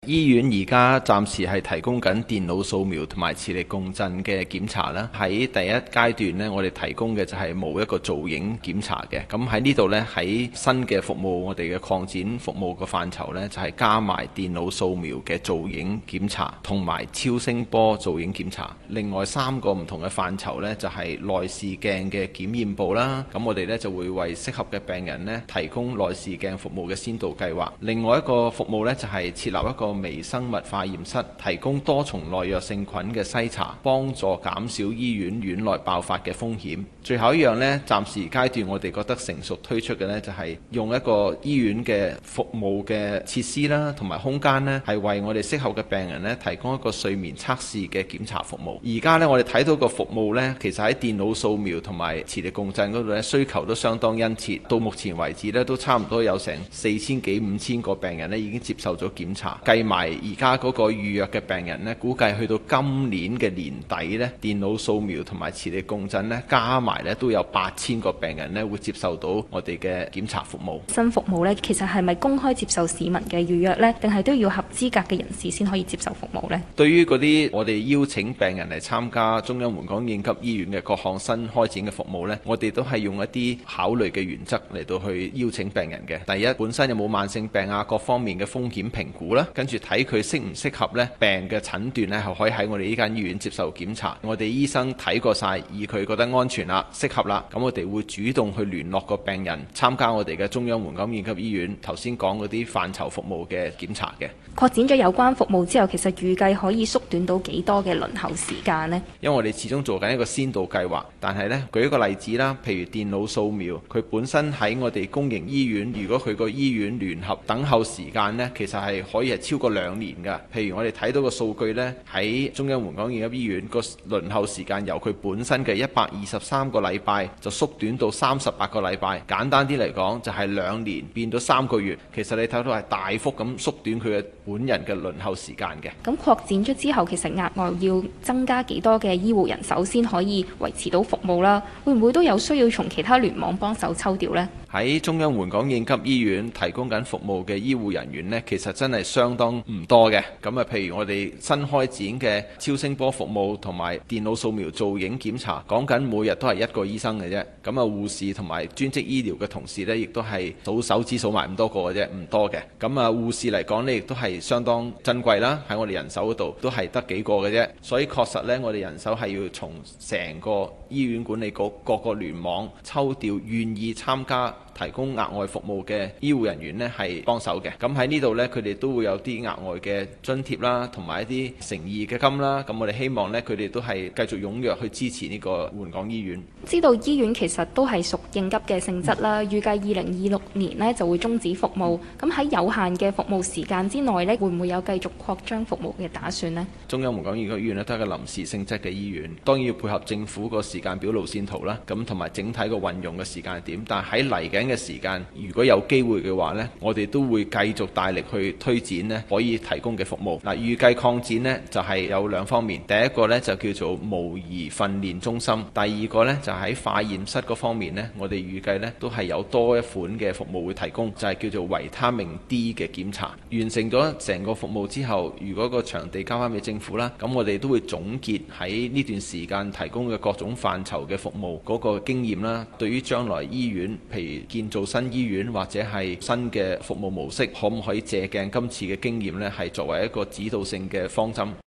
醫院而家暫時係提供緊電腦掃描同埋磁力共振嘅檢查啦。喺第一階段呢，我哋提供嘅就係冇一個造影檢查嘅。咁喺呢度呢，喺新嘅服務，我哋嘅擴展服務個範疇呢，就係加埋電腦掃描嘅造影檢查同埋超聲波造影檢查。另外3個唔同嘅範疇呢，就係內視鏡嘅檢驗部啦。咁我哋呢，就會為適合嘅病人呢，提供內視鏡服務嘅先導計劃。另外一個服務呢，就係設立一個微生物化驗室，提供多重耐藥性菌嘅篩查，幫助減少醫院院內爆發嘅風險。最後一樣呢，暫時階段我哋覺得成熟推出嘅呢，就係用一個醫院嘅服務嘅設施啦，同埋空間呢，係為我哋適合嘅病人呢，提供一個睡眠測試嘅檢查服務。而家呢，我哋睇到個服務呢，其實喺電腦掃描同埋磁力共振嗰度呢，需求都相當殷切。到目前為止呢，都差唔多有成4000幾5000個病人呢，已經接受咗檢查，計埋而家嗰個預約嘅病人呢，估計去到今年嘅年底呢，電腦掃描同埋磁力共振呢，加埋呢都有8000個病人呢會接受到我哋嘅檢查服務。 新服務呢，其實係咪公開接受市民嘅預約呢？定係都要合資格嘅人士先可以接受服務呢？ 對於嗰啲我哋邀請病人嚟參加中央援港應急醫院嘅各項新開展嘅服務呢，我哋都係用一啲考慮嘅原則嚟到去邀請病人嘅。第一，本身有冇慢性病啊，各方面嘅風險評估啦，跟住睇佢適唔適合呢病嘅診斷呢，係可以喺我哋呢間醫院接受檢查。我哋醫生睇過晒，而佢覺得安全啦、適合啦，咁我哋會主動去聯絡個病人參加我哋嘅中央援港應急醫院頭先講嗰啲範疇服務嘅檢查嘅。 擴展咗有關服務之後，其實預計可以縮短到幾多嘅輪候時間呢？ 因為我哋始終做緊一個先導計劃，但係呢，舉一個例子啦，譬如電腦掃描，佢本身喺我哋公營醫院，如果佢個醫院聯合等候時間呢，其實係可以係超過2年㗎。譬如我哋睇到個數據呢，喺中央援港應急醫院個輪候時間由佢本身嘅123個禮拜就縮短到38個禮拜。簡單啲嚟講，就係2年變到3個月。其實你睇到係大幅咁縮短佢嘅本人嘅輪候時間嘅。 咁擴展咗之後，其實額外要增加幾多嘅醫護人手先可以維持到服務啦？會唔會都有需要從其他聯網幫手抽調呢？ 喺中央援港應急醫院提供緊服務嘅醫護人員呢，其實真係相當唔多嘅。咁啊，譬如我哋新開展嘅超聲波服務同埋電腦掃描造影檢查，講緊每日都係1個醫生嘅啫。咁啊，護士同埋專職醫療嘅同事呢，亦都係數手指數埋咁多個嘅啫，唔多嘅。咁啊，護士嚟講呢，亦都係相當珍貴啦。喺我哋人手嗰度都係得幾個嘅啫。所以確實呢，我哋人手係要從成個醫院管理局各個聯網抽調願意參加提供額外服務嘅醫護人員呢，係幫手嘅。咁喺呢度呢，佢哋都會有啲額外嘅津貼啦，同埋一啲誠意嘅金啦。咁我哋希望呢，佢哋都係繼續踴躍去支持呢個援港醫院。 知道醫院其實都係屬應急嘅性質啦，預計2026年呢就會終止服務。咁喺有限嘅服務時間之內呢，會唔會有繼續擴張服務嘅打算呢？中央援港應急醫院呢都係個臨時性質嘅醫院，當然要配合政府個時間表路線圖啦，咁同埋整體個運用嘅時間係點。但係喺嚟緊嘅時間，如果有機會嘅話呢，我哋都會繼續大力去推展呢可以提供嘅服務。嗱，預計擴展呢就係有2方面，第一個呢就叫做模擬訓練中心，第二個呢就喺化驗室嗰方面呢，我哋預計呢都係有多一款嘅服務會提供，就係叫做維他命 D 嘅檢查。完成咗成個服務之後，如果個場地交翻俾政府啦，咁我哋都會總結喺呢段時間提供嘅各種範疇嘅服務嗰個經驗啦。對於將來醫院，譬如建造新醫院或者係新嘅服務模式，可唔可以借鏡今次嘅經驗呢？係作為一個指導性嘅方針。